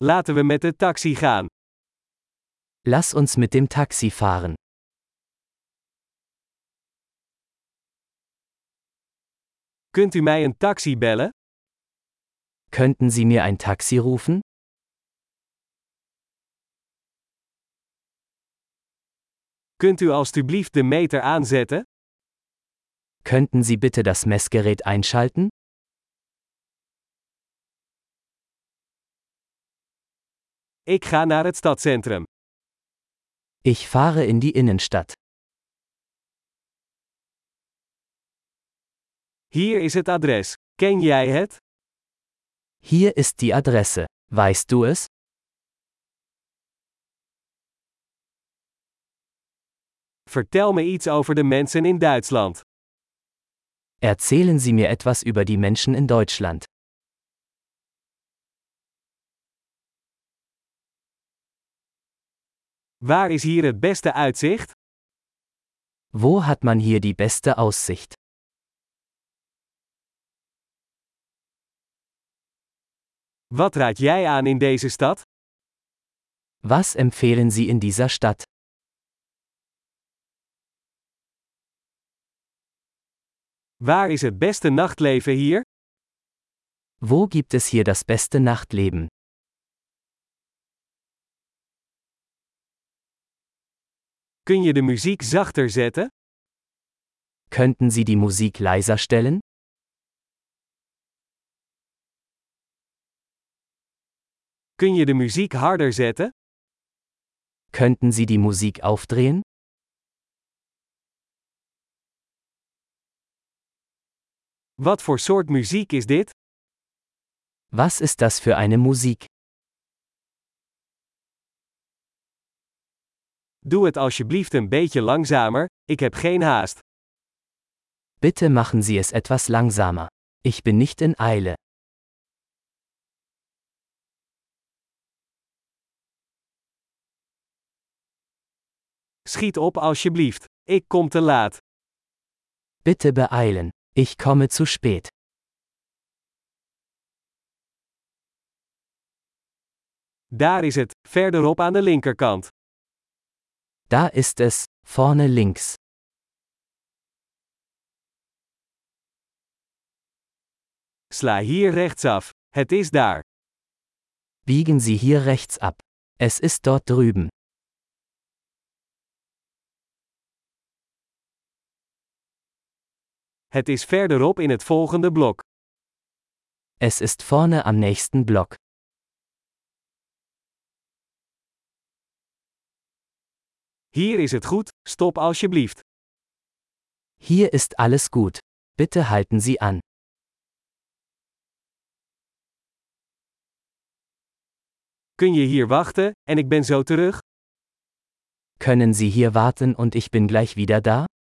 Laten we met de taxi gaan. Lass uns mit dem Taxi fahren. Kunt u mij een taxi bellen? Könnten Sie mir ein Taxi rufen? Kunt u alstublieft de meter aanzetten? Könnten Sie bitte das Messgerät einschalten? Ik ga naar het stadscentrum. Ich fahre in die Innenstadt. Hier is het adres. Ken jij het? Hier ist die Adresse. Weißt du es? Vertel me iets over de mensen in Duitsland. Erzählen Sie mir etwas über die Menschen in Deutschland. Waar is hier het beste uitzicht? Wo hat man hier die beste Aussicht? Wat raad jij aan in deze stad? Was empfehlen Sie in dieser Stadt? Waar is het beste nachtleven hier? Wo gibt es hier das beste Nachtleben? Kun je de muziek zachter zetten? Könnten Sie die Musik leiser stellen? Kun je de muziek harder zetten? Könnten Sie die Musik aufdrehen? Wat voor soort muziek is dit? Was ist das für eine Musik? Doe het alsjeblieft een beetje langzamer, ik heb geen haast. Bitte machen Sie es etwas langsamer. Ich bin nicht in Eile. Schiet op alsjeblieft. Ik kom te laat. Bitte beeilen. Ich komme zu spät. Daar is het, verderop aan de linkerkant. Da ist es, vorne links. Sla hier rechtsaf. Het is daar. Biegen Sie hier rechts ab. Es ist dort drüben. Het is verderop in het volgende blok. Es ist vorne am nächsten Block. Hier is het goed, stop alsjeblieft. Hier ist alles gut. Bitte halten Sie an. Kun je hier wachten, en ik ben zo terug? Können Sie hier warten und ich bin gleich wieder da?